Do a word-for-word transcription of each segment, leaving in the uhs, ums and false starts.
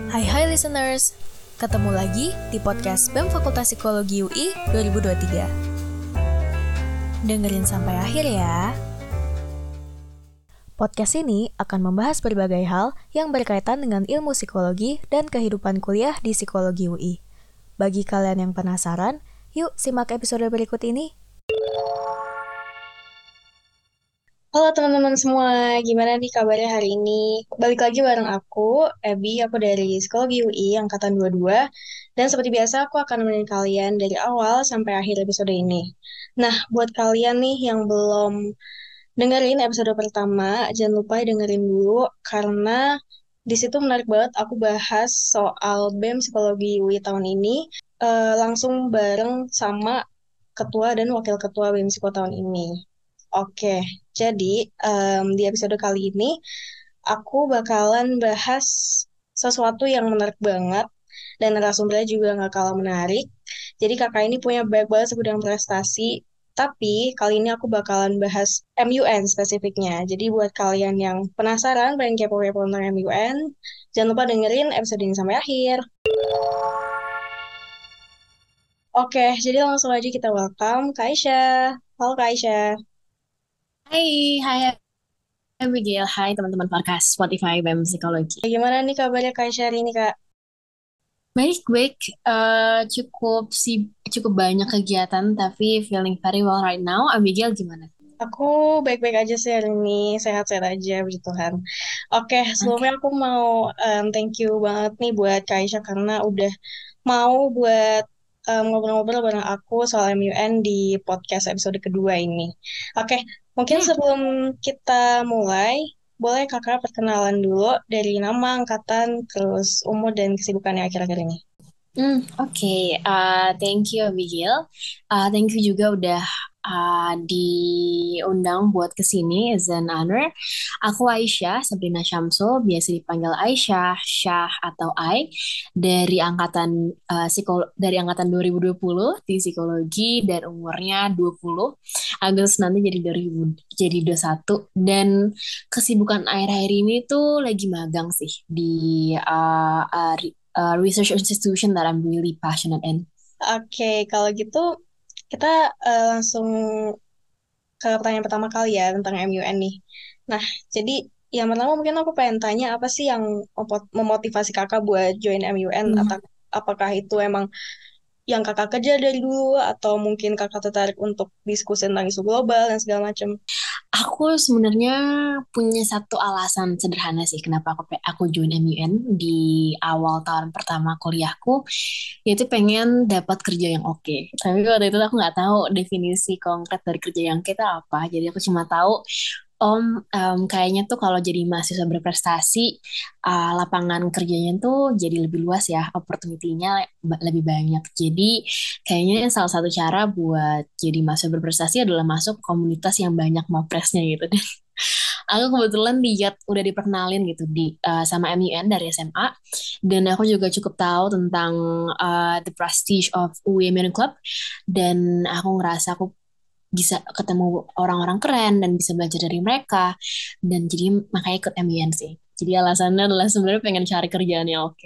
Hai hai listeners, ketemu lagi di podcast B E M Fakultas Psikologi U I dua ribu dua puluh tiga. Dengerin sampai akhir ya. Podcast ini akan membahas berbagai hal yang berkaitan dengan ilmu psikologi dan kehidupan kuliah di Psikologi U I. Bagi kalian yang penasaran, yuk simak episode berikut ini. Halo teman-teman semua, gimana nih kabarnya hari ini? Balik lagi bareng aku, Abby, aku dari Psikologi U I Angkatan dua puluh dua. Dan seperti biasa, aku akan nemenin kalian dari awal sampai akhir episode ini. Nah, buat kalian nih yang belum dengerin episode pertama, jangan lupa dengerin dulu, karena di situ menarik banget aku bahas soal B E M Psikologi U I tahun ini, eh, langsung bareng sama Ketua dan Wakil Ketua B E M Psiko tahun ini. Oke, jadi em, di episode kali ini aku bakalan bahas sesuatu yang menarik banget dan narasumbernya juga nggak kalah menarik. Jadi kakak ini punya banyak banget sebidang prestasi, tapi kali ini aku bakalan bahas M U N spesifiknya. Jadi buat kalian yang penasaran, pengen kepo-kepo tentang M U N, jangan lupa dengerin episode ini sampai akhir. Oke, jadi langsung aja kita welcome Kak Aisyah. Halo Kak Aisyah. Hai, hai Abigail, hai teman-teman podcast Spotify B E M Psikologi. Gimana nih kabarnya Kak Aisyah hari ini Kak? Baik-baik, eh cukup sih cukup banyak kegiatan tapi feeling very well right now. Abigail gimana? Aku baik-baik aja sih hari ini, sehat-sehat aja, puji Tuhan. Oke, sebelumnya Oke. aku mau um, thank you banget nih buat Kak Aisyah karena udah mau buat um, ngobrol-ngobrol bareng aku soal M U N di podcast episode kedua ini. Oke, mungkin Hmm, sebelum kita mulai, boleh kakak perkenalan dulu dari nama, angkatan, terus umur dan kesibukannya akhir-akhir ini. hmm, oke. Eh, thank you Abigail. Eh, thank you juga udah eh, diundang buat kesini as an honor. Aku Aisyah Sabrina Syamsul, biasa dipanggil Aisyah, Syah atau Ai, dari angkatan eh, psikolo- dari angkatan dua ribu dua puluh di psikologi dan umurnya dua puluh. Agustus nanti jadi dua ribu jadi dua puluh satu, dan kesibukan akhir-akhir ini tuh lagi magang sih di uh, uh, re- uh, research institution that I'm really passionate in. Oke, kalau gitu kita uh, langsung ke pertanyaan pertama kali ya tentang M U N nih. Nah, jadi yang pertama mungkin aku pengen tanya apa sih yang mempo- memotivasi kakak buat join M U N, atau Mhm. apakah itu emang yang kakak kejar dari dulu atau mungkin kakak tertarik untuk diskusi tentang isu global dan segala macam. Aku sebenarnya punya satu alasan sederhana sih kenapa aku pe- aku join M U N di awal tahun pertama kuliahku, yaitu pengen dapat kerja yang oke. Tapi waktu itu aku nggak tahu definisi konkret dari kerja yang kita apa. Jadi aku cuma tahu Om, em, kayaknya tuh kalau jadi mahasiswa berprestasi, uh, lapangan kerjanya tuh jadi lebih luas ya, opportunity-nya ba- lebih banyak. Jadi kayaknya salah satu cara buat jadi mahasiswa berprestasi adalah masuk komunitas yang banyak mapresnya gitu. Dan aku kebetulan lihat udah diperkenalin gitu di uh, sama M U N dari S M A, dan aku juga cukup tahu tentang uh, the prestige of Women Club, dan aku ngerasa aku bisa ketemu orang-orang keren dan bisa belajar dari mereka, dan jadi makanya ikut M U N sih. Jadi alasannya adalah sebenarnya pengen cari kerjaan yang oke.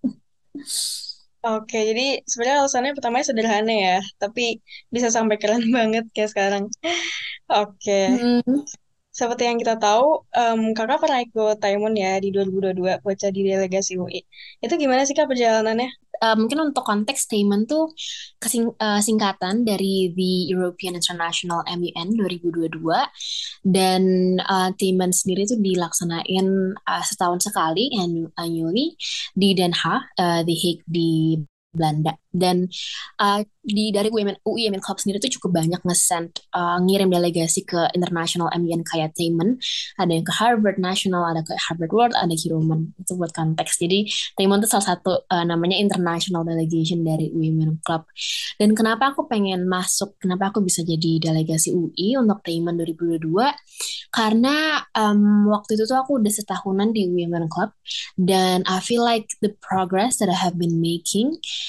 Oke, jadi sebenarnya alasannya pertamanya sederhana ya, tapi bisa sampai keren banget kayak sekarang. Oke, Hmm. seperti yang kita tahu, em, kakak pernah ikut Taimon ya di dua ribu dua puluh dua buat jadi delegasi U I. Itu gimana sih kak perjalanannya? Uh, mungkin untuk konteks statement tuh kesing- uh, singkatan dari the European International M U N dua ribu dua puluh dua, dan uh, statement sendiri tuh dilaksanain uh, setahun sekali annu- annually di Den Haag, uh, The Hague di Belanda. Dan uh, di dari U I M U I M N Club sendiri tuh cukup banyak nge-send uh, ngirim delegasi ke international M U N kayak Taemen, ada yang ke Harvard National, ada ke Harvard World, ada Human. Itu buat konteks. Jadi Taemen itu salah satu uh, namanya international delegation dari Women Club. Dan kenapa aku pengen masuk, kenapa aku bisa jadi delegasi U I untuk Taemen dua ribu dua puluh dua? Karena um, waktu itu tuh aku udah setahunan di Women Club, dan I feel like the progress that I have been making di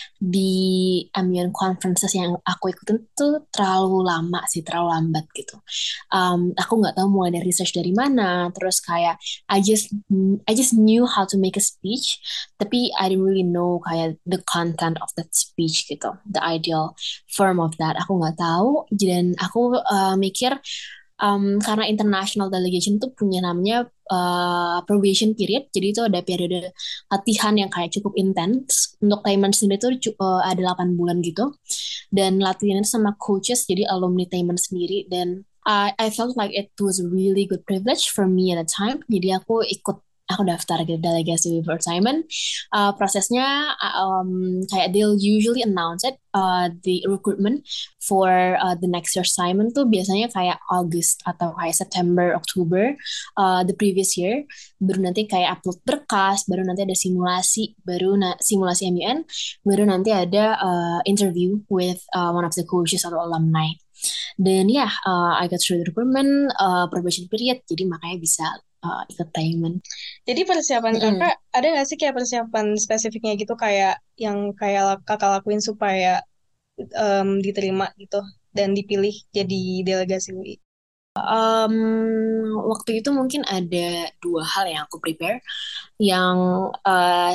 di M U N conferences yang aku ikutin tuh terlalu lama sih, terlalu lambat gitu. Um, aku nggak tahu mulai dari research dari mana, terus kayak I just I just knew how to make a speech, tapi I didn't really know kayak the content of that speech gitu, the ideal form of that. Aku nggak tahu, dan aku uh, mikir um, karena international delegation tuh punya namanya uh, probation period, jadi itu ada periode latihan yang kayak cukup intens. Untuk Taiman sendiri tuh cu- uh, ada delapan bulan gitu, dan latihannya sama coaches, jadi alumni Taiman sendiri, dan I, I felt like it was a really good privilege for me at the time. Jadi aku ikut, aku daftar ke delegasi for Simon. Uh, prosesnya uh, um, kayak they'll usually announce it, uh, the recruitment for uh, the next year Simon tuh biasanya kayak August atau kayak September, October uh, the previous year. Baru nanti kayak upload berkas, baru nanti ada simulasi, baru na simulasi M U N, baru nanti ada uh, interview with uh, one of the coaches atau alumni. Dan ya, yeah, uh, I got through the recruitment, uh, probation period, jadi makanya bisa uh, ikut Taiman. Jadi persiapan Mm-mm. kakak, ada nggak sih kayak persiapan spesifiknya gitu, kayak yang kayak kakak lakuin supaya em, diterima gitu dan dipilih jadi delegasi U I? Um, waktu itu mungkin ada dua hal yang aku prepare, yang uh,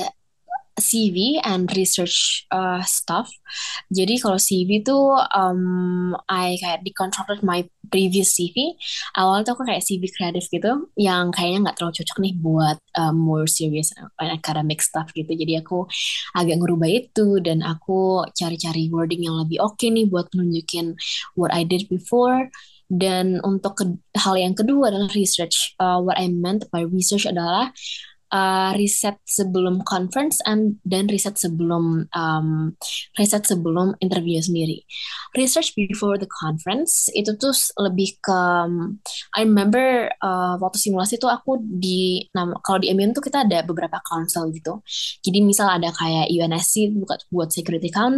C V and research uh, stuff. Jadi kalau C V tuh um, I kayak deconstructed my previous C V. Awalnya tuh aku kayak C V kreatif gitu, yang kayaknya nggak terlalu cocok nih buat um, more serious and academic stuff gitu. Jadi aku agak ngerubah itu, dan aku cari-cari wording yang lebih oke okay nih buat nunjukin what I did before. Dan untuk ke- hal yang kedua adalah research. Uh, what I meant by research adalah uh, riset sebelum conference and dan riset sebelum um, riset sebelum interview sendiri. Research before the conference itu tuh lebih ke um, I remember uh, waktu simulasi tuh aku di nama kalau di M U N tuh kita ada beberapa council gitu. Jadi misal ada kayak U N S C buat buat security council,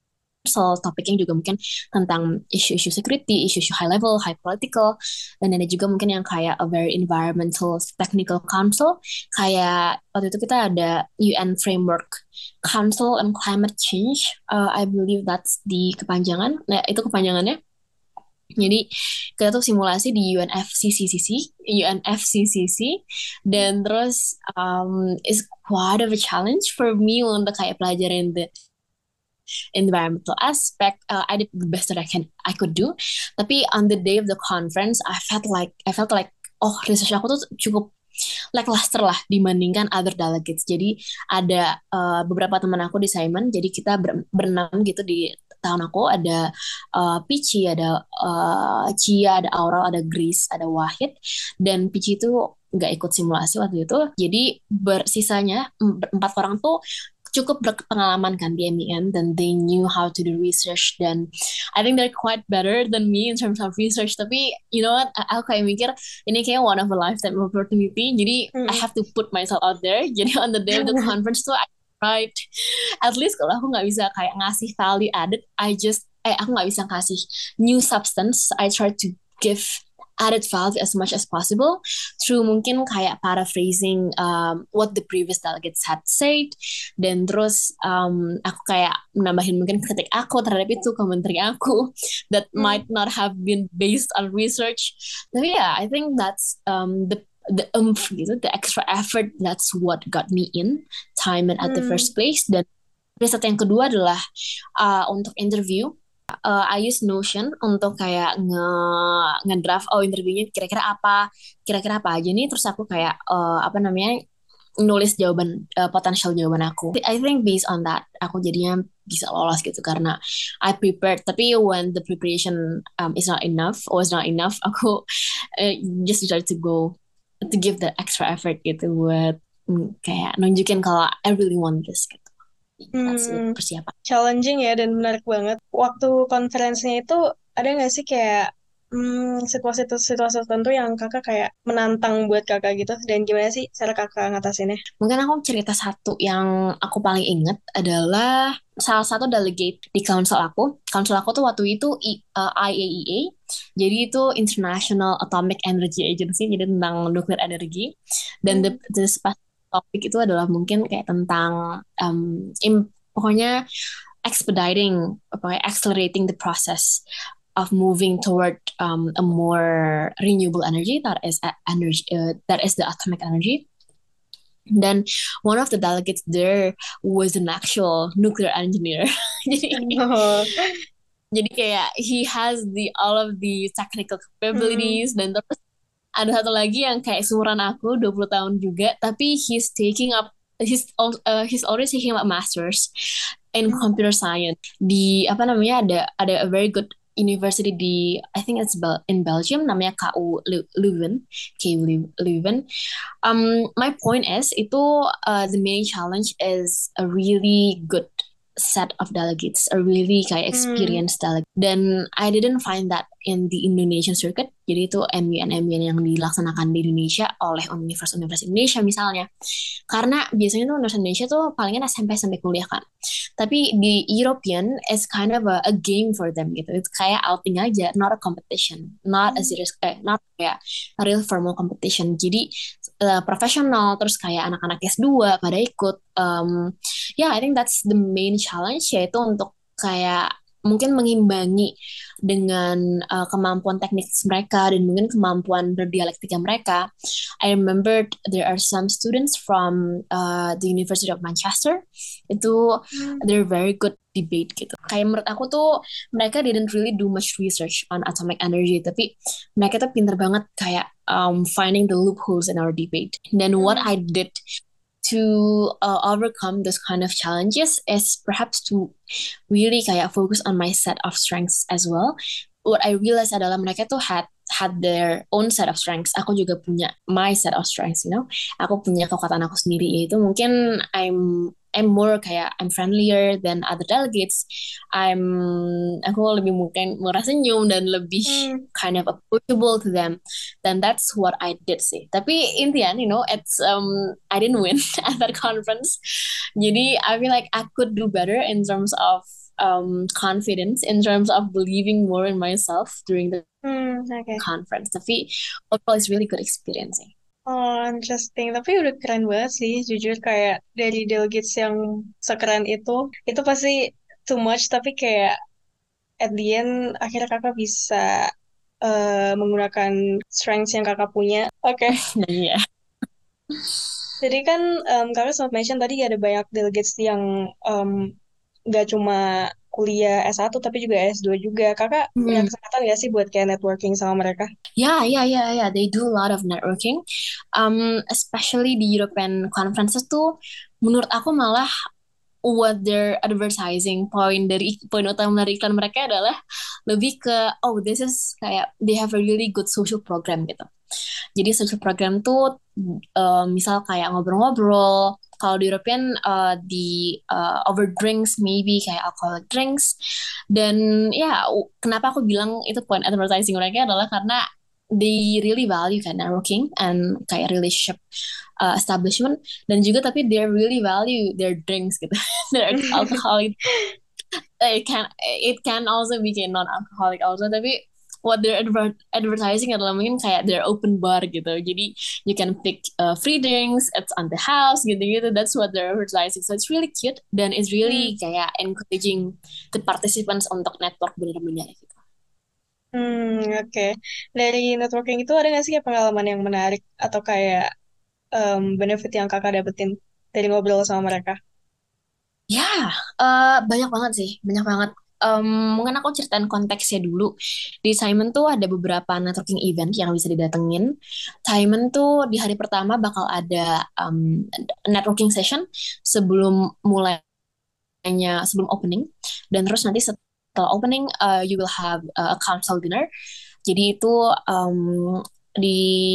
topiknya juga mungkin tentang isu-isu security, isu-isu high level, high political, dan ada juga mungkin yang kayak a very environmental technical council, kayak waktu itu kita ada U N Framework Council on Climate Change, uh, I believe that's the kepanjangan, nah itu kepanjangannya. Jadi kita tuh simulasi di U N F C C C, U N F C C C, dan terus um, is quite of a challenge for me untuk kayak pelajarin the environmental aspect. uh, I did the best that I can I could do. Tapi on the day of the conference, I felt like I felt like oh research aku tuh cukup lackluster lah dibandingkan other delegates. Jadi ada uh, beberapa teman aku di Simon. Jadi kita ber berenam gitu di tahun aku, ada uh, Pici, ada uh, Cia, ada Aural, ada Grace, ada Wahid, dan Pici itu nggak ikut simulasi waktu itu. Jadi bersisanya empat orang tuh cukup berpengalaman kan di M U N, dan they knew how to do research, dan I think they're quite better than me in terms of research. Tapi you know what, aku kayak mikir ini kayak one of a lifetime opportunity, jadi Mm. I have to put myself out there. Jadi on the day of the conference tuh I tried, at least kalau aku nggak bisa kayak ngasih value added, I just eh aku nggak bisa kasih new substance, I try to give added value as much as possible through mungkin kayak paraphrasing um, what the previous delegates had said, dan terus um, aku kayak menambahin mungkin kritik aku terhadap itu komentari aku that Hmm. might not have been based on research. Tapi ya, yeah, I think that's um, the the umph gitu, the extra effort, that's what got me in time and at the Hmm. first place. Dan riset yang kedua adalah uh, untuk interview. Uh, I use Notion untuk kayak nge ngedraft oh interviewnya kira-kira apa kira-kira apa aja nih, terus aku kayak uh, apa namanya nulis jawaban uh, potensial jawaban aku. I think based on that aku jadinya bisa lolos gitu karena I prepared. Tapi when the preparation um, is not enough or is not enough, aku uh, just try to go to give the extra effort gitu buat mm, kayak nunjukin kalau I really want this gitu. That's it, Hmm. persiapan. Challenging ya dan menarik banget. Waktu konferensinya itu ada nggak sih kayak hmm, situasi-situasi tertentu yang kakak kayak menantang buat kakak gitu, dan gimana sih cara kakak ngatasinnya? Mungkin aku cerita satu yang aku paling inget adalah salah satu delegate di council aku. Council aku tuh waktu itu I, uh, I A E A, jadi itu International Atomic Energy Agency, jadi tentang nuklir energi. Dan the, Hmm. the specific topik itu adalah mungkin kayak tentang um, im, pokoknya expediting, apa ya, accelerating the process of moving toward um, a more renewable energy that is a- energy uh, that is the atomic energy. Dan one of the delegates there was an actual nuclear engineer. Jadi Oh. jadi kayak he has the all of the technical Hmm. capabilities. Dan terus ada satu lagi yang kayak seumuran aku dua puluh tahun juga, tapi he's taking up he's al- uh, he's already taking up masters in computer science di apa namanya, ada ada a very good university di, I think it's Bel in Belgium, namanya K U Leu- Leuven, K U Leu- Leuven. Um, my point is itu uh, the main challenge is a really good set of delegates, a really kayak Hmm. experienced delegate. Dan I didn't find that in the Indonesian circuit. Jadi itu M U N M U N yang dilaksanakan di Indonesia oleh universitas-universitas Indonesia misalnya. Karena biasanya tuh universitas Indonesia tuh palingan S M P sampai kuliah kan. Tapi di European is kind of a, a game for them gitu. It's kayak outing aja, not a competition, not a serious, eh, not kayak a real formal competition. Jadi uh, profesional, terus kayak anak-anak S dua pada ikut. Um, yeah, I think that's the main challenge, yaitu untuk kayak mungkin mengimbangi dengan uh, kemampuan teknik mereka dan mungkin kemampuan berdialektika mereka. I remembered there are some students from uh, the University of Manchester. Itu Hmm. they're very good debate gitu. Kayak menurut aku tuh mereka didn't really do much research on atomic energy, tapi mereka tuh pinter banget kayak um, finding the loopholes in our debate. Then what I did to uh, overcome those kind of challenges is perhaps to really kayak focus on my set of strengths as well. What I realized adalah mereka tuh had had their own set of strengths. Aku juga punya my set of strengths, you know. Aku punya kekuatan aku sendiri, yaitu mungkin I'm I'm more kayak I'm friendlier than other delegates. I'm aku lebih mungkin murah senyum dan lebih Hmm. kind of approachable to them. Then that's what I did sih. Tapi in the end, you know, it's um I didn't win at that conference. Jadi I feel like I could do better in terms of um confidence, in terms of believing more in myself during the Hmm. Oke. conference. Tapi overall it's really good experience sih. Oh, interesting. Tapi udah keren banget sih, jujur kayak dari delegates yang sekeren itu, itu pasti too much, tapi kayak at the end, akhirnya kakak bisa eh, menggunakan strengths yang kakak punya. Oke, Dan ya, jadi kan em, kakak sempat mention tadi ada banyak delegates yang em, nggak cuma kuliah S satu, tapi juga S dua juga. Kakak punya hmm. kesempatan nggak sih buat kayak networking sama mereka? Yeah, yeah, yeah, yeah. They do a lot of networking. Um, especially di European conferences tuh, menurut aku malah what they're advertising point dari poin utama dari iklan mereka adalah lebih ke oh this is kayak they have a really good social program gitu. Jadi social program tuh uh, misal kayak ngobrol-ngobrol. Kalau di European uh, di uh, over drinks maybe kayak alcoholic drinks. Dan ya kenapa aku bilang itu point advertising mereka adalah karena they really value kan networking and kayak relationship uh, establishment, dan juga tapi they really value their drinks gitu. Their alcoholic, it can it can also be kayak non alcoholic also, tapi what they're adver advertising adalah mungkin kayak their open bar gitu. Jadi you can pick uh, free drinks, it's on the house gitu-gitu. That's what they're advertising. So it's really cute dan it's Hmm. really kayak encouraging the participants untuk network bener-bener gitu. Hmm, oke. Dari networking itu ada nggak sih kayak pengalaman yang menarik atau kayak em, benefit yang kakak dapetin dari ngobrol sama mereka? Ya, eh, banyak banget sih, banyak banget. Em, mungkin aku ceritain konteksnya dulu. Di Simon tuh ada beberapa networking event yang bisa didatengin. Simon tuh di hari pertama bakal ada em, networking session sebelum mulainya, sebelum opening. Dan terus nanti setelah opening, uh, you will have uh, a council dinner. Jadi itu em, di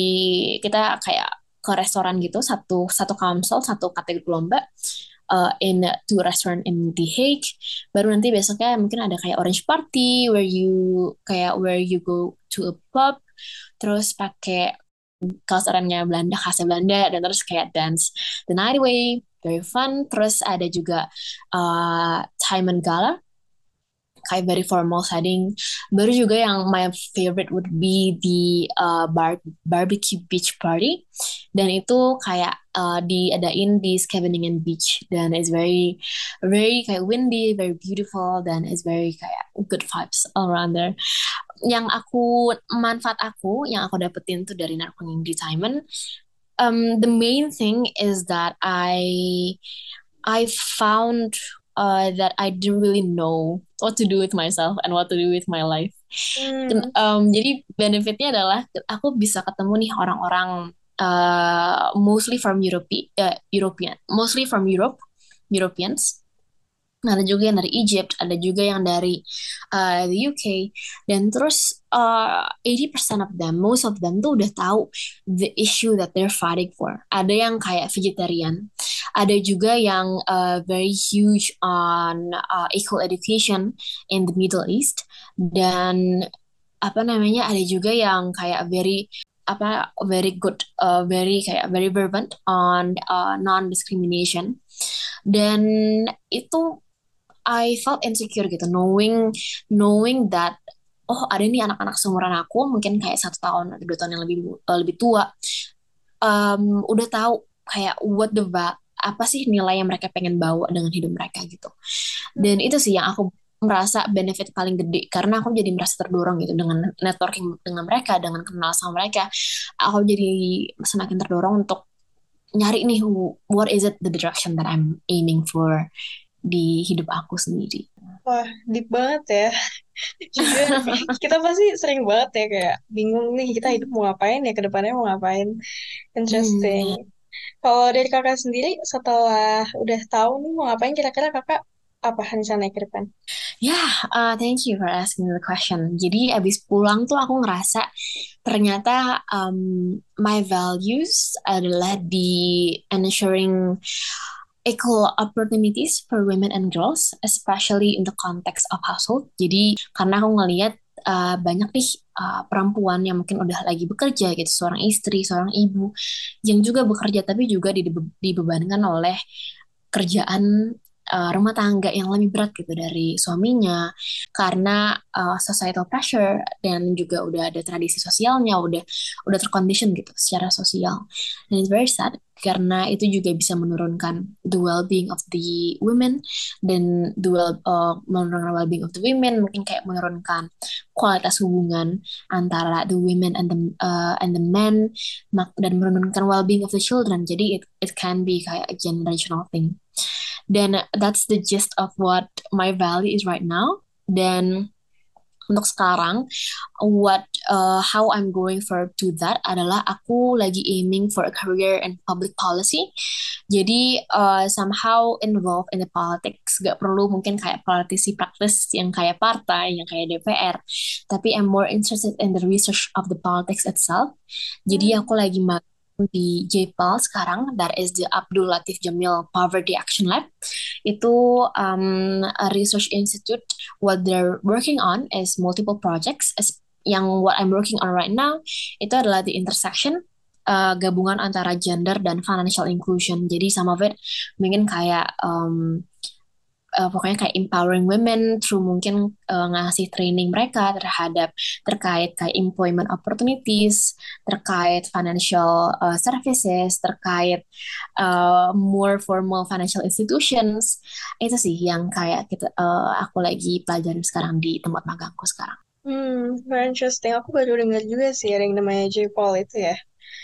kita kayak ke restoran gitu, satu satu council, satu kategori lomba uh, in two restaurant in The Hague. Baru nanti besoknya mungkin ada kayak orange party where you kayak where you go to a pub, terus pakai kaos oranye Belanda, khasnya Belanda, dan terus kayak dance the night away, very fun. Terus ada juga uh, Time and Gala kayak very formal setting. Baru juga yang my favorite would be the uh, bar barbecue beach party, dan itu kayak uh, diadain di Scheveningen Beach, dan it's very very kayak windy, very beautiful, dan it's very kayak good vibes all around there. Yang aku manfaat aku yang aku dapetin tuh dari networking entertainment, um, the main thing is that I I found uh, that I didn't really know what to do with myself and what to do with my life. Hmm. Um, jadi benefitnya adalah aku bisa ketemu nih orang-orang uh, mostly from Europe, uh, European, mostly from Europe, Europeans. Ada juga yang dari Egypt, ada juga yang dari uh, the U K, dan terus uh, eighty percent of them, most of them tuh udah tahu the issue that they're fighting for. Ada yang kayak vegetarian, ada juga yang uh, very huge on uh, equal education in the Middle East, dan apa namanya, ada juga yang kayak very apa very good, uh, very kayak very fervent on uh, non-discrimination, dan itu I felt insecure gitu, knowing knowing that oh ada nih anak-anak seumuran aku, mungkin kayak satu tahun atau dua tahun yang lebih uh, lebih tua, um, udah tahu kayak what the va- apa sih nilai yang mereka pengen bawa dengan hidup mereka gitu. Dan itu sih yang aku merasa benefit paling gede, karena aku jadi merasa terdorong gitu dengan networking dengan mereka, dengan kenal sama mereka, aku jadi semakin terdorong untuk nyari nih what is it the direction that I'm aiming for di hidup aku sendiri. Wah, deep banget ya. Juga kita pasti sering banget ya kayak bingung nih kita hidup mau ngapain ya, ke depannya mau ngapain. Interesting. Hmm. Kalau dari kakak sendiri setelah udah tahu nih mau ngapain, kira-kira kakak apa rencana ke depan? Ya, yeah, uh, thank you for asking the question. Jadi abis pulang tuh aku ngerasa ternyata um, my values adalah di ensuring equal opportunities for women and girls, especially in the context of household. Jadi karena aku ngelihat uh, banyak nih uh, perempuan yang mungkin udah lagi bekerja gitu, seorang istri, seorang ibu yang juga bekerja tapi juga dibe- dibebankan oleh kerjaan uh, rumah tangga yang lebih berat gitu dari suaminya, karena uh, societal pressure, dan juga udah ada tradisi sosialnya, udah udah tercondition gitu secara sosial. And it's very sad karena itu juga bisa menurunkan the well-being of the women, dan the well, uh, menurunkan well-being of the women, mungkin kayak menurunkan kualitas hubungan antara the women and the uh, and the men, dan menurunkan well-being of the children. Jadi it it can be kayak a generational thing. Dan that's the gist of what my value is right now. Dan untuk sekarang, what uh, how I'm going for to that adalah aku lagi aiming for a career in public policy. Jadi uh, somehow involved in the politics. Gak perlu mungkin kayak politisi praktis yang kayak partai, yang kayak D P R. Tapi I'm more interested in the research of the politics itself. Jadi aku lagi magang di J P A L sekarang, that is the Abdul Latif Jamil Poverty Action Lab. Itu um, a research institute. What they're working on is multiple projects. As, yang what I'm working on right now itu adalah the intersection, uh, gabungan antara gender dan financial inclusion. Jadi some of it mungkin kayak um, uh, pokoknya kayak empowering women through mungkin uh, ngasih training mereka terhadap terkait kayak employment opportunities, terkait financial uh, services, terkait uh, more formal financial institutions. Itu sih yang kayak kita uh, aku lagi pelajarin sekarang di tempat magangku sekarang. Hmm, very interesting. Aku baru dengar juga sih ada yang namanya J P A L itu ya.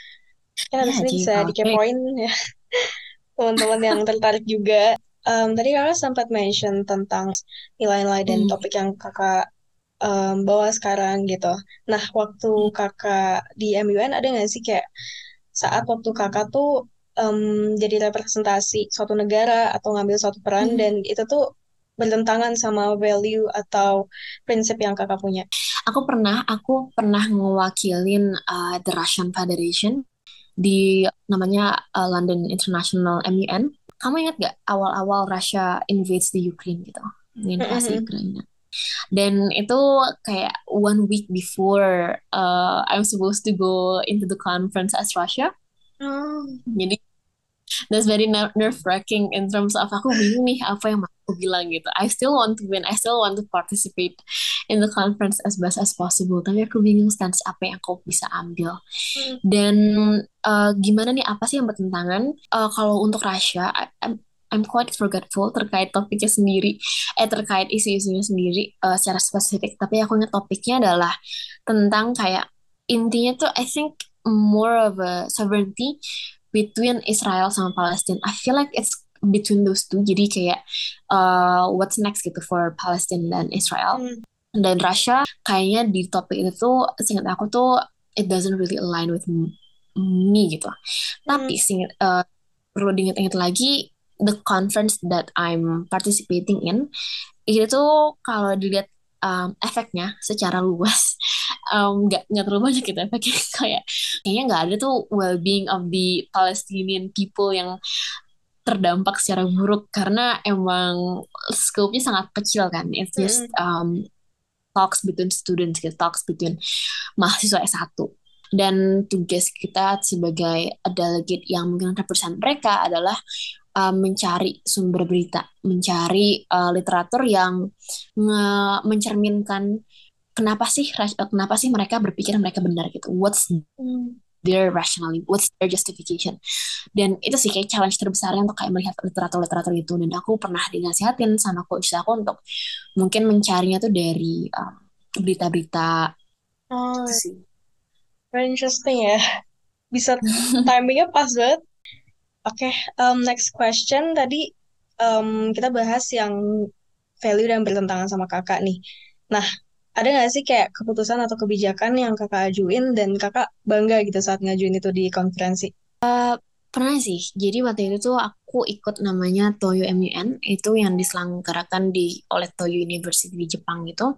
Ya, Ya, habis ini bisa J P A L. dikepoin ya teman-teman yang tertarik juga. Um, tadi kakak sempat mention tentang nilai-nilai dan Hmm. topik yang kakak um, bawa sekarang gitu. Nah, waktu kakak di M U N ada nggak sih kayak saat waktu kakak tuh um, jadi representasi suatu negara atau ngambil suatu peran Hmm. dan itu tuh bertentangan sama value atau prinsip yang kakak punya? Aku pernah, aku pernah ngewakilin uh, the Russian Federation di namanya uh, London International M U N. Kamu ingat gak awal-awal Russia invades the Ukraine gitu, invasi Mm-mm. Ukraina. Dan itu kayak one week before uh, I'm supposed to go into the conference as Russia. Oh. Jadi that's very nerve-wracking in terms of aku bingung nih apa yang mau aku bilang gitu. I still want to win, I still want to participate in the conference as best as possible. Tapi aku bingung stance apa yang aku bisa ambil. Hmm. Dan uh, gimana nih, apa sih yang bertentangan? Uh, kalau untuk Russia, I, I'm, I'm quite forgetful terkait topiknya sendiri, eh terkait isu-isunya sendiri uh, secara spesifik. Tapi aku ingat topiknya adalah tentang kayak intinya tuh I think more of a sovereignty between Israel sama Palestine. I feel like it's between those two. Jadi kayak uh, what's next gitu for Palestine dan Israel. Hmm. Dan Russia kayaknya di topik itu tuh seingat aku tuh it doesn't really align with me gitu. Tapi seingat, uh, perlu diingat-ingat lagi the conference that I'm participating in itu tuh kalau dilihat um, efeknya secara luas um, nggak nggak terlalu banyak gitu efeknya. kayak kayaknya nggak ada tuh well-being of the Palestinian people yang terdampak secara buruk karena emang scope-nya sangat kecil kan. It's just um, talks between students gitu, talks between mahasiswa S satu. Dan tugas kita sebagai delegate yang mungkin represent mereka adalah uh, mencari sumber berita, mencari uh, literatur yang nge- mencerminkan kenapa sih kenapa sih mereka berpikir mereka benar gitu. What's their rationality, what's their justification. Dan itu sih kayak challenge terbesarnya untuk kayak melihat literatur-literatur itu. Dan aku pernah dinasihatin sama coach aku untuk mungkin mencarinya tuh dari um, berita-berita. Oh, Itu sih. very interesting ya. Bisa timingnya pas banget. Oke, okay, um, next question. Tadi um, kita bahas yang value dan bertentangan sama kakak nih. Nah, ada nggak sih kayak keputusan atau kebijakan yang kakak ajuin dan kakak bangga gitu saat ngajuin itu di konferensi? Uh, pernah sih. Jadi waktu itu tuh aku ikut namanya Toyo M U N, itu yang diselenggarakan di oleh Toyo University di Jepang gitu.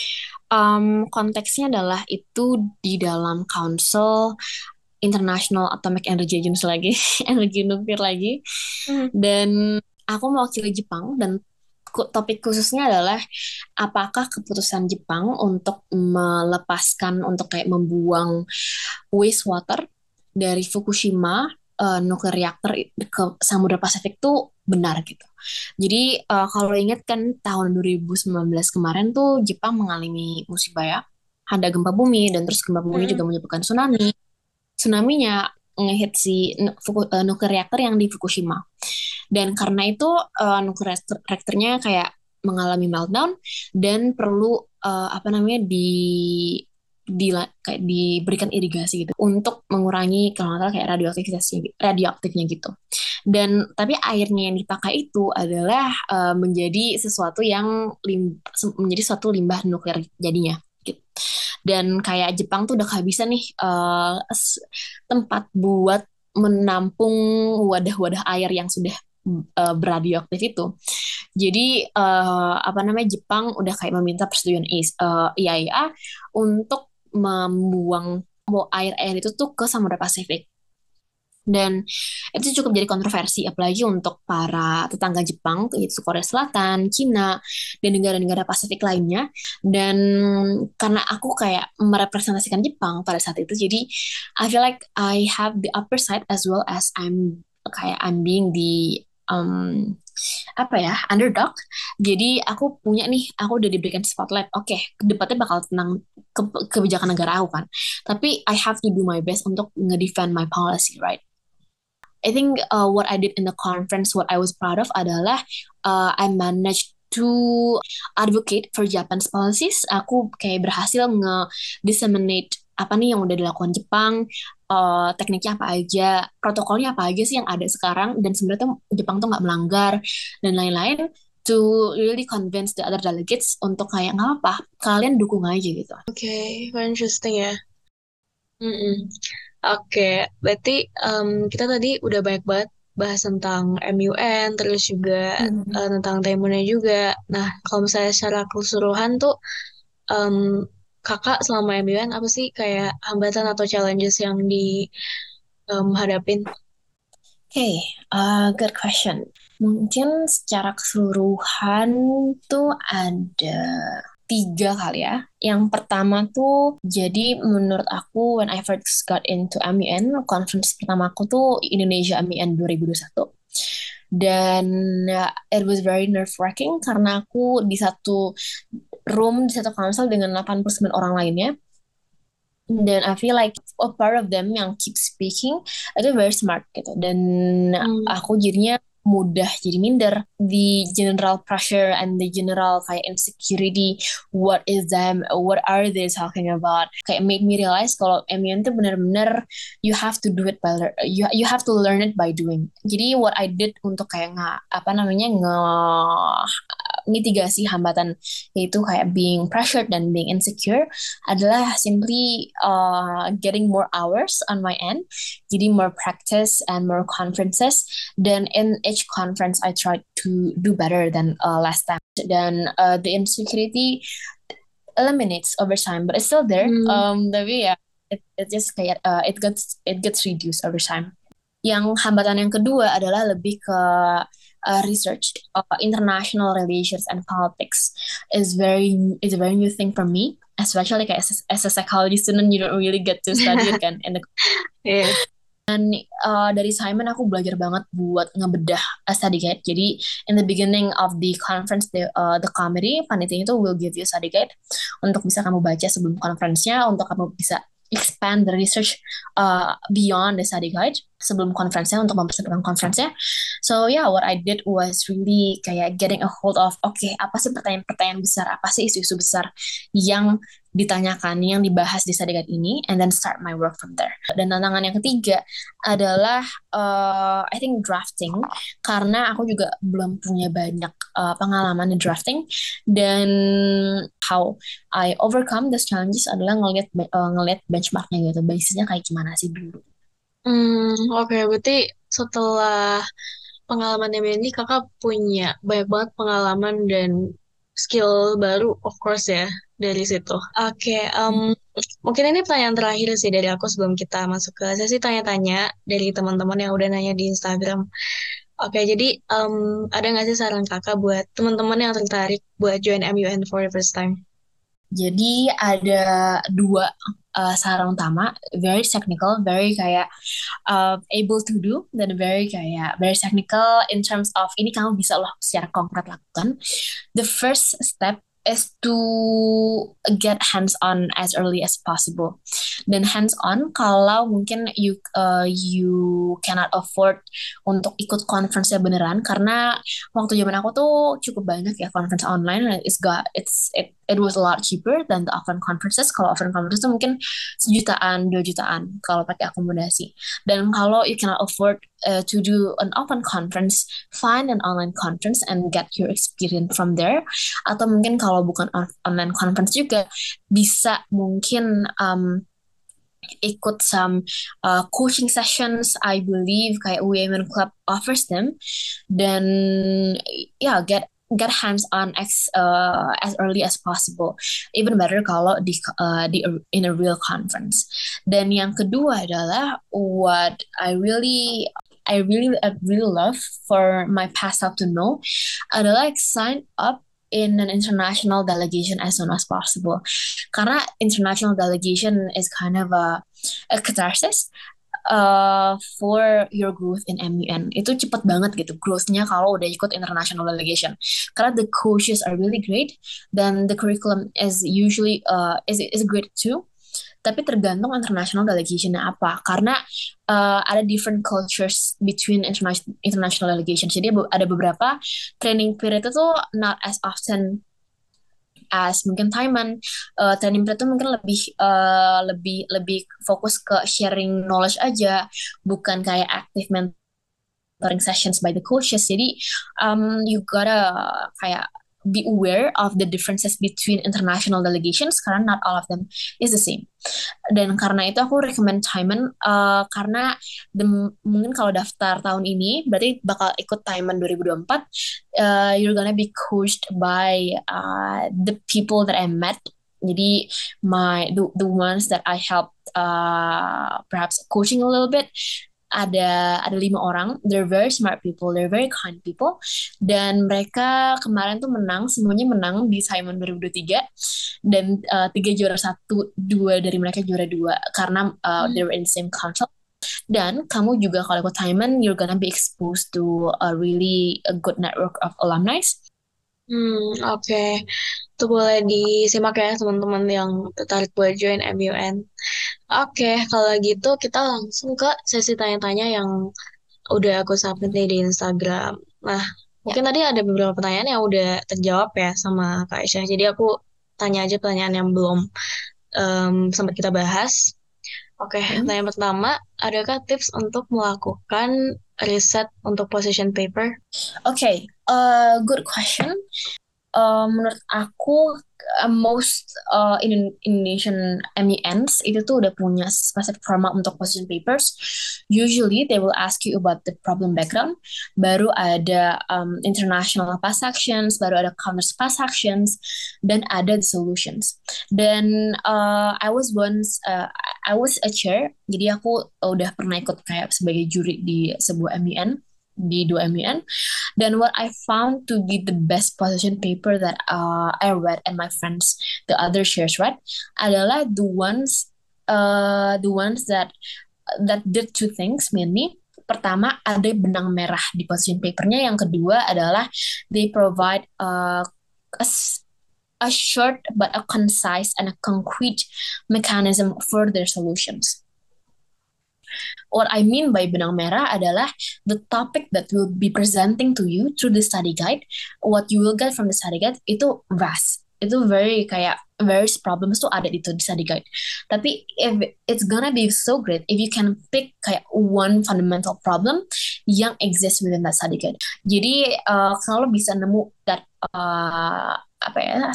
Um, konteksnya adalah itu di dalam Council International Atomic Energy Agency lagi, energi nuklir lagi. Hmm. Dan aku mewakili Jepang dan topik khususnya adalah apakah keputusan Jepang untuk melepaskan untuk kayak membuang wastewater dari Fukushima uh, nuklir reaktor ke Samudra Pasifik tuh benar gitu. Jadi uh, kalau ingat kan tahun dua ribu sembilan belas kemarin tuh Jepang mengalami musibah ya, ada gempa bumi dan terus gempa bumi Hmm. juga menyebabkan tsunami. Tsunami-nya ngehit si Fuku, uh, nuklir reaktor yang di Fukushima. Dan karena itu uh, nuklir reaktornya kayak mengalami meltdown dan perlu uh, apa namanya di di kayak diberikan irigasi gitu untuk mengurangi kalau nggak salah kayak radioaktivitasnya radioaktifnya gitu. Dan tapi airnya yang dipakai itu adalah uh, menjadi sesuatu yang lim, menjadi suatu limbah nuklir jadinya gitu. Dan kayak Jepang tuh udah kehabisan nih uh, tempat buat menampung wadah-wadah air yang sudah uh, beradioaktif itu. Jadi uh, apa namanya Jepang udah kayak meminta persetujuan uh, I A E A untuk membuang air-air itu tuh ke Samudra Pasifik. Dan itu cukup jadi kontroversi, apalagi untuk para tetangga Jepang, yaitu Korea Selatan, Cina, dan negara-negara Pasifik lainnya. Dan karena aku kayak merepresentasikan Jepang pada saat itu, jadi I feel like I have the upper side as well as I'm kayak I'm being the um, apa ya underdog. Jadi aku punya nih, aku udah diberikan spotlight. Oke, okay, debatnya bakal tentang ke kebijakan negara aku kan. Tapi I have to do my best untuk nge-defend my policy, right? I think uh, what I did in the conference, what I was proud of adalah uh, I managed to advocate for Japan's policies. Aku kayak berhasil nge-disseminate apa nih yang udah dilakukan Jepang, uh, tekniknya apa aja, protokolnya apa aja sih yang ada sekarang, dan sebenarnya tuh Jepang tuh nggak melanggar, dan lain-lain, to really convince the other delegates untuk kayak nggak apa, kalian dukung aja gitu. Oke, okay, very interesting ya. Mm-mm. Oke, okay, berarti um, kita tadi udah banyak banget bahas tentang M U N, terus juga mm-hmm. uh, tentang Taimunnya juga. Nah, kalau misalnya secara keseluruhan tuh, um, kakak selama M U N apa sih kayak hambatan atau challenges yang dihadapin? Um, Oke, okay, uh, good question. Mungkin secara keseluruhan tuh ada tiga kali ya. Yang pertama tuh, jadi menurut aku when I first got into M U N, conference pertama aku tuh Indonesia M U N dua ribu dua puluh satu. dan uh, it was very nerve wracking karena aku di satu room, di satu council dengan delapan puluh sembilan orang lainnya. Dan I feel like a part of them yang keep speaking itu very smart gitu. Dan Hmm. aku jadinya mudah jadi minder. The general pressure and the general kayak insecurity, what is them, what are they talking about, kayak made me realize kalau M U N itu benar-benar you have to do it by lear- you you have to learn it by doing. Jadi what I did untuk kayak nggak apa namanya nge mitigasi hambatan yaitu kayak being pressured dan being insecure adalah simply uh, getting more hours on my end, jadi more practice and more conferences, dan in each conference I try to do better than uh, last time, dan uh, the insecurity eliminates over time but it's still there. Hmm. um, tapi ya it, it just kayak uh, it gets it gets reduced over time. Yang hambatan yang kedua adalah lebih ke uh, research. Uh, international relations and politics is very is a very new thing for me, especially kayak as, as a psychology student you don't really get to study it kan. And the, Yeah. dan uh, dari Simon aku belajar banget buat ngebedah a study guide. Jadi in the beginning of the conference, the uh, the committee panitia itu will give you a study guide untuk bisa kamu baca sebelum conference-nya, untuk kamu bisa expand the research uh, beyond the study guide sebelum conference-nya untuk mempersiapkan conference-nya. So yeah, what I did was really kayak getting a hold of, oke, okay, apa sih pertanyaan-pertanyaan besar, apa sih isu-isu besar yang ditanyakan, yang dibahas di study guide ini, and then start my work from there. Dan tantangan yang ketiga adalah uh, I think drafting, karena aku juga belum punya banyak uh, pengalaman di drafting, dan how I overcome these challenges adalah ngelihat uh, ngelihat benchmarknya gitu, basisnya kayak gimana sih dulu. Hmm, oke, berarti setelah pengalamannya Mandy, kakak punya banyak banget pengalaman dan skill baru, of course ya, dari situ. Oke, um, mungkin ini pertanyaan terakhir sih dari aku sebelum kita masuk ke sesi tanya-tanya dari teman-teman yang udah nanya di Instagram. Oke, jadi um, ada nggak sih saran kakak buat teman-teman yang tertarik buat join M U N for the first time? Jadi ada dua uh, saran utama, very technical, very kayak uh, able to do, dan very kayak very technical in terms of ini kamu bisa loh secara konkret lakukan. The first step is to get hands on as early as possible. Dan hands on kalau mungkin you uh, you cannot afford untuk ikut conference-nya beneran, karena waktu zaman aku tuh cukup banyak ya conference online, and it's got it's it, it was a lot cheaper than the offline conferences. Kalau offline conference tuh mungkin sejutaan, dua jutaan kalau pakai akomodasi. Dan kalau you cannot afford uh, to do an offline conference, find an online conference and get your experience from there. Atau mungkin kalau bukan on- online conference juga bisa mungkin um, ikut some uh, coaching sessions. I believe kayak Women Club offers them. Dan ya yeah, get get hands on as uh, as early as possible. Even better kalau di uh, di in a real conference. Dan yang kedua adalah what I really I really I really love for my past self to know adalah like sign up in an international delegation as soon as possible. Karena international delegation is kind of a, a catharsis uh, for your growth in M U N. Itu cepat banget gitu growth-nya kalau udah ikut international delegation. Karena the coaches are really great, dan the curriculum is usually uh, is is great too. Tapi tergantung international delegation-nya apa. Karena uh, ada different cultures between international international delegations. Jadi ada beberapa training period itu not as often as mungkin Thailand. Uh, training period itu mungkin lebih uh, lebih lebih fokus ke sharing knowledge aja, bukan kayak active mentoring sessions by the coaches. Jadi um, you gotta kayak be aware of the differences between international delegations karena not all of them is the same. Dan karena itu aku recommend Thailand uh, karena the, mungkin kalau daftar tahun ini berarti bakal ikut Thailand dua ribu dua puluh empat. Uh, you're gonna be coached by uh, the people that I met. Jadi my the, the ones that I helped uh, perhaps coaching a little bit, ada ada lima orang. They're very smart people, they're very kind people, dan mereka kemarin tuh menang, semuanya menang di Simon dua ribu dua puluh tiga, dan uh, tiga juara satu, dua dari mereka juara dua karena uh, they were in the same council. Dan kamu juga kalau ikut Timon, you're gonna be exposed to a really a good network of alumni. Hmm, oke. Itu boleh disimak ya teman-teman yang tertarik buat join M U N. Oke, kalau gitu kita langsung ke sesi tanya-tanya yang udah aku submit nih di Instagram. Nah, Ya. mungkin tadi ada beberapa pertanyaan yang udah terjawab ya sama Kak Aisyah. Jadi aku tanya aja pertanyaan yang belum em, sempat kita bahas. Oke, Hmm. pertanyaan pertama, adakah tips untuk melakukan riset untuk position paper? Okay, uh, good question. Uh, menurut aku uh, most uh, in Indonesian M E Ns itu tuh udah punya specific format untuk position papers. Usually they will ask you about the problem background. Baru ada um, international past actions, baru ada counters past actions, dan ada the solutions. Dan uh, I was once uh, I was a chair, jadi aku udah pernah ikut kayak sebagai juri di sebuah M E N, di dua M E N. Then what I found to be the best position paper that uh, I read and my friends, the other shares read, adalah the ones, uh, the ones that that did two things mainly. Pertama, ada benang merah di position papernya. Yang kedua adalah they provide uh, a, a short but a concise and a concrete mechanism for their solutions. What I mean by benang merah adalah the topic that will be presenting to you through the study guide. What you will get from the study guide itu vast. Itu very kayak various problems tuh ada itu di study guide. Tapi if it's gonna be so great if you can pick kayak one fundamental problem yang exists within that study guide. Jadi uh, kalau bisa nemu that uh, apa ya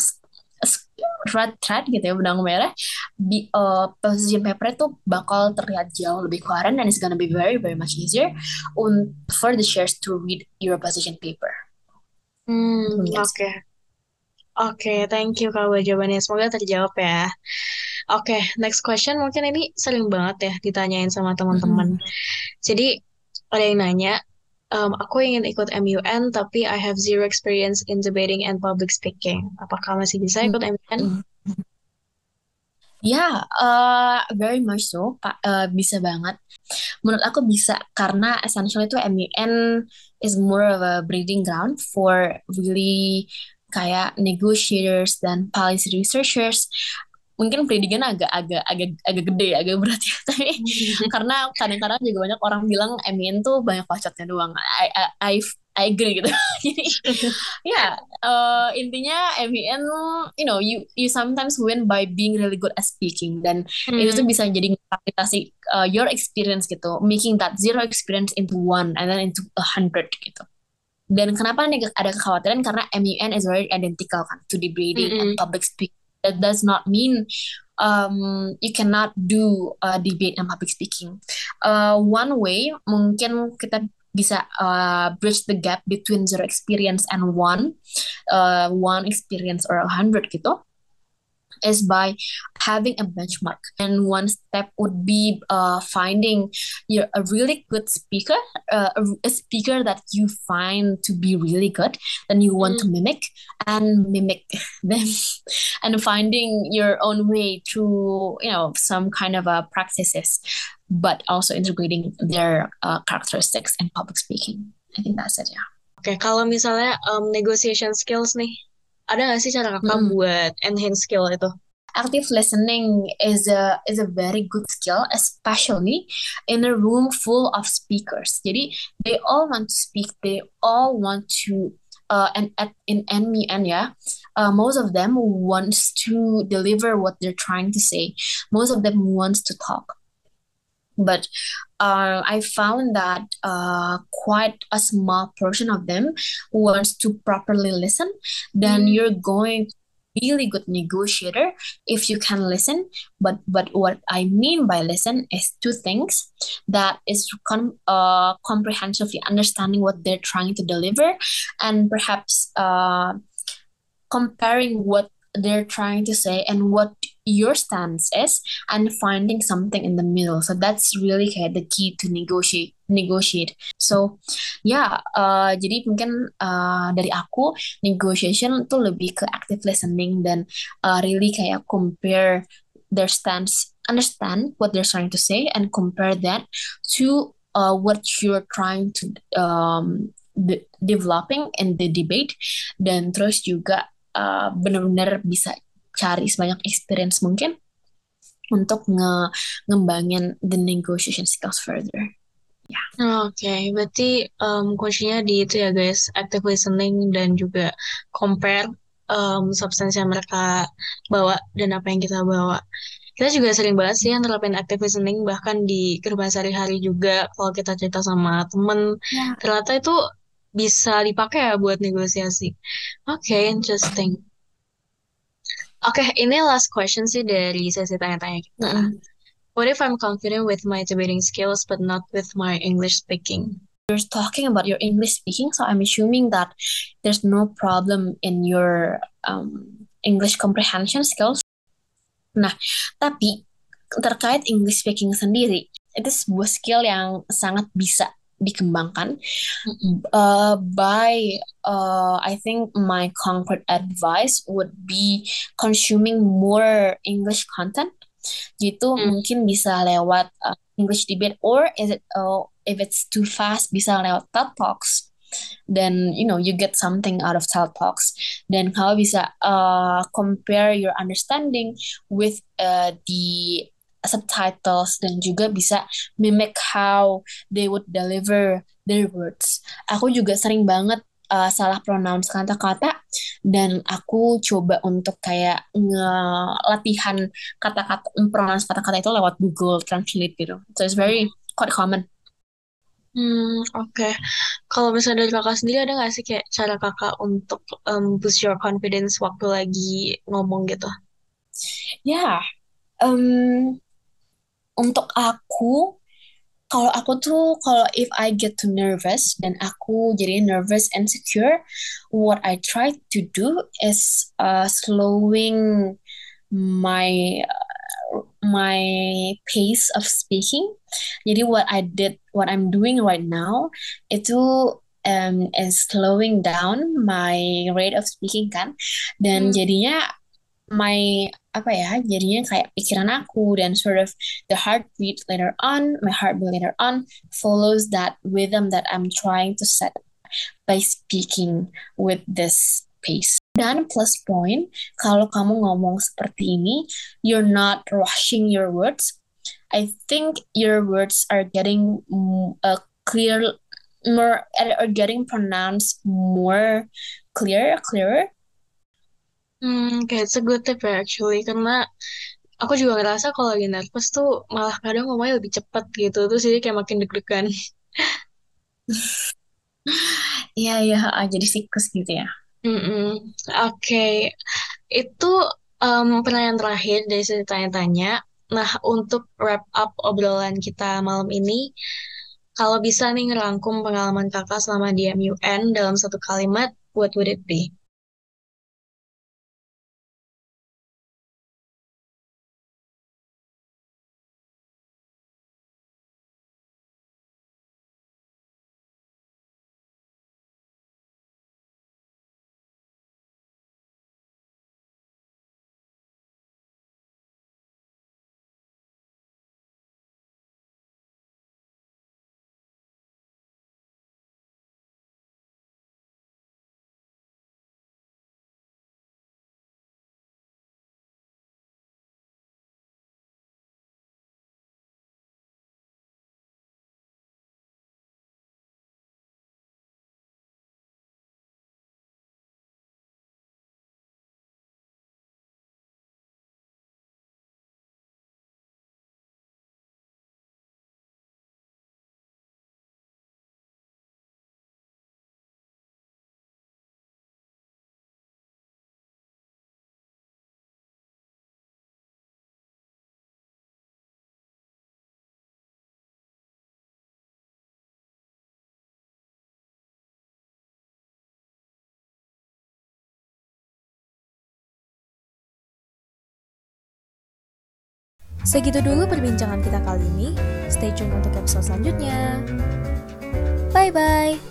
red thread gitu ya, benang merah di uh, position paper itu bakal terlihat jauh lebih koheren dan it's gonna be very very much easier un- for the shares to read your position paper. Hmm, Mungkin oke. sih. Oke, thank you Kak buat jawabannya. Semoga terjawab ya. Oke, next question mungkin ini sering banget ya ditanyain sama teman-teman. Mhm. Jadi ada yang nanya, um, aku ingin ikut M U N tapi I have zero experience in debating and public speaking. Apakah masih bisa ikut M U N? Mhm. Ya, uh, very much so, Pak. Uh, bisa banget. Menurut aku bisa karena essentially itu M U N is more of a breeding ground for really kayak negotiators dan policy researchers. Mungkin pendidikan agak agak agak agak gede, agak berat ya. Tapi karena kadang-kadang juga banyak orang bilang M U N tuh banyak bacotnya doang. I I I, I agree gitu. Jadi ya uh, intinya M U N, you know, you you sometimes win by being really good at speaking dan itu tuh Hmm, bisa jadi kapitasi uh, your experience gitu, making that zero experience into one and then into a hundred gitu. Dan kenapa nih ada kekhawatiran karena M U N is very identical kan to debating and mm-mm. public speaking. That does not mean um, you cannot do uh, debate and public speaking. Uh, one way mungkin kita bisa uh, bridge the gap between zero experience and one, uh, one experience or a hundred gitu, is by having a benchmark. And one step would be uh, finding you're a really good speaker, uh, a, a speaker that you find to be really good, then you want to Hmm, mimic and mimic them, and finding your own way through, you know, some kind of uh, practices, but also integrating their uh, characteristics in public speaking. I think that's it, yeah. Oke, kalau misalnya um, negotiation skills nih, ada nggak sih cara kakak Mm-mm. buat enhance skill itu? Active listening is a is a very good skill, especially in a room full of speakers. Jadi they all want to speak, they all want to uh, and at in M U N yeah, uh, most of them wants to deliver what they're trying to say. Most of them wants to talk. But uh, I found that uh, quite a small portion of them wants to properly listen. Then Hmm, you're going to be a really good negotiator if you can listen. But but what I mean by listen is two things: that is com- uh, comprehensively understanding what they're trying to deliver, and perhaps uh, comparing what they're trying to say and what your stance is and finding something in the middle. So that's really kayak the key to negotiate negotiate. So ya, uh, jadi mungkin uh, dari aku negotiation tuh lebih ke active listening dan uh, really kayak compare their stance understand what they're trying to say and compare that to uh, what you're trying to um, de- developing in the debate, dan terus juga uh, benar-benar bisa cari sebanyak experience mungkin untuk nge ngembangin the negotiation skills further. Ya. Oke, berarti um, kuncinya di itu ya guys, active listening dan juga compare um, substansi yang mereka bawa dan apa yang kita bawa. Kita juga sering banget sih yang nerapin active listening, bahkan di kehidupan sehari-hari juga kalau kita cerita sama temen, Ya. ternyata itu bisa dipakai ya buat negosiasi. Oke, interesting. Oke, ini last question sih dari sesi tanya-tanya kita. Mm-mm. What if I'm confident with my debating skills but not with my English speaking? You're talking about your English speaking, so I'm assuming that there's no problem in your um, English comprehension skills. Nah, tapi terkait English speaking sendiri, itu sebuah skill yang sangat bisa dikembangkan uh, by uh, I think my concrete advice would be consuming more English content. Gitu Hmm. mungkin bisa lewat uh, English debate, or is it uh, if it's too fast bisa lewat TED Talks. Then you know you get something out of TED Talks. Dan kalau bisa uh, compare your understanding with uh, the subtitles, dan juga bisa mimic how they would deliver their words. Aku juga sering banget uh, salah pronounce kata-kata, dan aku coba untuk kayak ngelatihan kata-kata, pronounce kata-kata itu lewat Google Translate gitu. So it's very quite common. Hmm, oke. Kalau misalnya dari kakak sendiri ada nggak sih kayak cara kakak untuk um, boost your confidence waktu lagi ngomong gitu? Ya, um, untuk aku, kalau aku tuh, kalau if I get too nervous dan aku jadi nervous and insecure, what I try to do is uh, slowing my my pace of speaking. Jadi what I did, what I'm doing right now, itu um, is slowing down my rate of speaking kan, dan Hmm. jadinya my apa ya, jadinya kayak pikiran aku dan sort of the heartbeat later on, my heartbeat later on follows that rhythm that I'm trying to set by speaking with this pace. Dan plus point, kalau kamu ngomong seperti ini, you're not rushing your words. I think your words are getting uh, clear, more, are getting pronounced more clear, clearer. Hmm, kayak it's a good tip ya actually, karena aku juga ngerasa kalau lagi nervous tuh malah kadang ngomongnya lebih cepat gitu, terus jadi kayak makin deg-degan. Iya, iya, jadi siklus gitu ya. Mm-mm. Oke, itu um, pertanyaan terakhir dari sesi tanya-tanya. Nah, untuk wrap up obrolan kita malam ini, kalau bisa nih ngerangkum pengalaman kakak selama di M U N dalam satu kalimat, what would it be? Segitu dulu perbincangan kita kali ini. Stay tune untuk episode selanjutnya. Bye-bye.